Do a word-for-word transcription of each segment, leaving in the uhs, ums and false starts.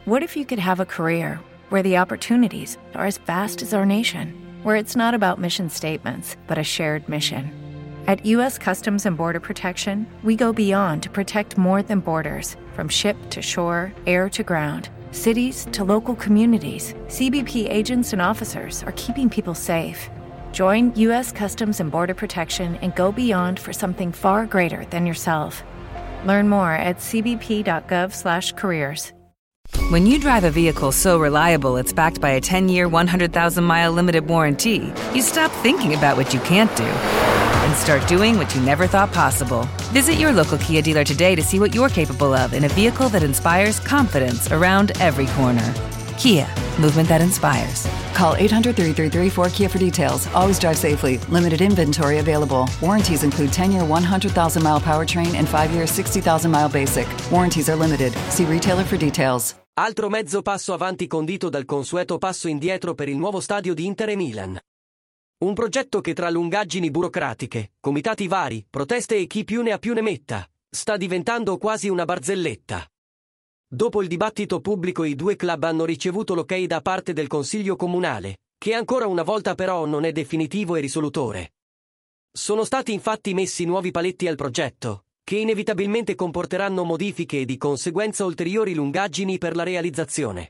What if you could have a career where the opportunities are as vast as our nation, where it's not about mission statements, but a shared mission? At U S Customs and Border Protection, we go beyond to protect more than borders. From ship to shore, air to ground, cities to local communities, C B P agents and officers are keeping people safe. Join U S Customs and Border Protection and go beyond for something far greater than yourself. Learn more at c b p dot gov slash careers. When you drive a vehicle so reliable it's backed by a ten-year, one hundred thousand mile limited warranty, you stop thinking about what you can't do and start doing what you never thought possible. Visit your local Kia dealer today to see what you're capable of in a vehicle that inspires confidence around every corner. Kia, movement that inspires. Call eight hundred, three three three, four K I A for details. Always drive safely. Limited inventory available. Warranties include ten-year, one hundred thousand mile powertrain and five-year, sixty thousand mile basic. Warranties are limited. See retailer for details. Altro mezzo passo avanti condito dal consueto passo indietro per il nuovo stadio di Inter e Milan. Un progetto che tra lungaggini burocratiche, comitati vari, proteste e chi più ne ha più ne metta, sta diventando quasi una barzelletta. Dopo il dibattito pubblico i due club hanno ricevuto l'ok da parte del Consiglio Comunale, che ancora una volta però non è definitivo e risolutore. Sono stati infatti messi nuovi paletti al progetto, che inevitabilmente comporteranno modifiche e di conseguenza ulteriori lungaggini per la realizzazione.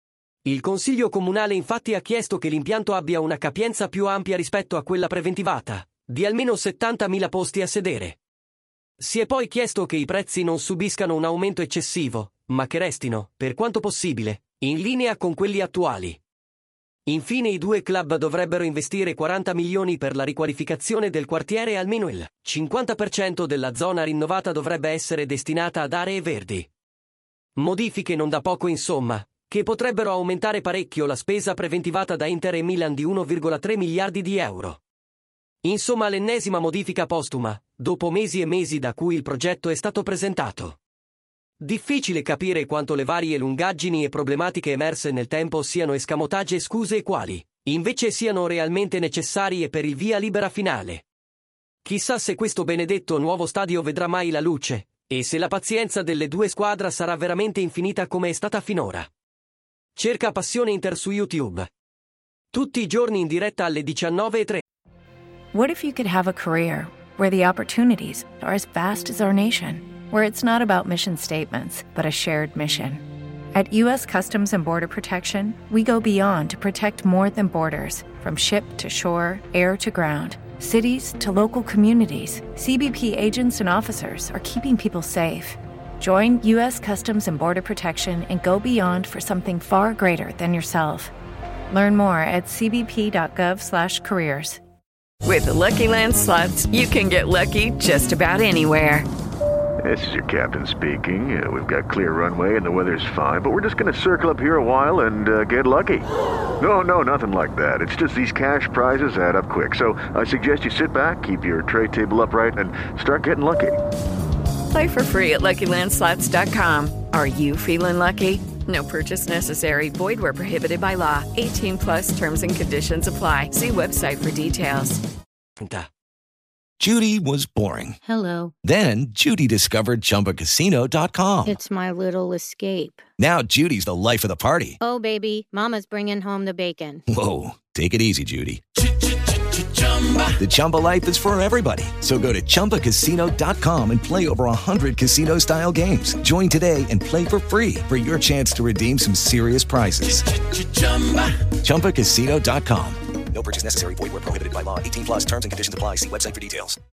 Il Consiglio Comunale infatti ha chiesto che l'impianto abbia una capienza più ampia rispetto a quella preventivata, di almeno settantamila posti a sedere. Si è poi chiesto che i prezzi non subiscano un aumento eccessivo, ma che restino, per quanto possibile, in linea con quelli attuali. Infine i due club dovrebbero investire quaranta milioni per la riqualificazione del quartiere e almeno il cinquanta per cento della zona rinnovata dovrebbe essere destinata ad aree verdi. Modifiche non da poco insomma, che potrebbero aumentare parecchio la spesa preventivata da Inter e Milan di uno virgola tre miliardi di euro. Insomma l'ennesima modifica postuma, dopo mesi e mesi da cui il progetto è stato presentato. Difficile capire quanto le varie lungaggini e problematiche emerse nel tempo siano escamotage e scuse e quali, invece, siano realmente necessarie per il via libera finale. Chissà se questo benedetto nuovo stadio vedrà mai la luce, e se la pazienza delle due squadre sarà veramente infinita come è stata finora. Cerca Passione Inter su YouTube. Tutti i giorni in diretta alle diciannove e tre. What if you could have a career where the opportunities are as vast as our nation, where it's not about mission statements, but a shared mission? At U S Customs and Border Protection, we go beyond to protect more than borders. From ship to shore, air to ground, cities to local communities, C B P agents and officers are keeping people safe. Join U S Customs and Border Protection and go beyond for something far greater than yourself. Learn more at c b p dot gov slash careers. With the Lucky Land Slots, you can get lucky just about anywhere. This is your captain speaking. Uh, we've got clear runway and the weather's fine, but we're just going to circle up here a while and uh, get lucky. No, no, nothing like that. It's just these cash prizes add up quick. So I suggest you sit back, keep your tray table upright, and start getting lucky. Play for free at lucky land slots dot com. Are you feeling lucky? No purchase necessary. Void where prohibited by law. eighteen plus terms and conditions apply. See website for details. Judy was boring. Hello. Then Judy discovered Chumba Casino dot com. It's my little escape. Now Judy's the life of the party. Oh, baby, mama's bringing home the bacon. Whoa, take it easy, Judy. The Chumba life is for everybody. So go to Chumba Casino dot com and play over one hundred casino-style games. Join today and play for free for your chance to redeem some serious prizes. Chumba Casino dot com. No purchase necessary. Void where prohibited by law. eighteen plus terms and conditions apply. See website for details.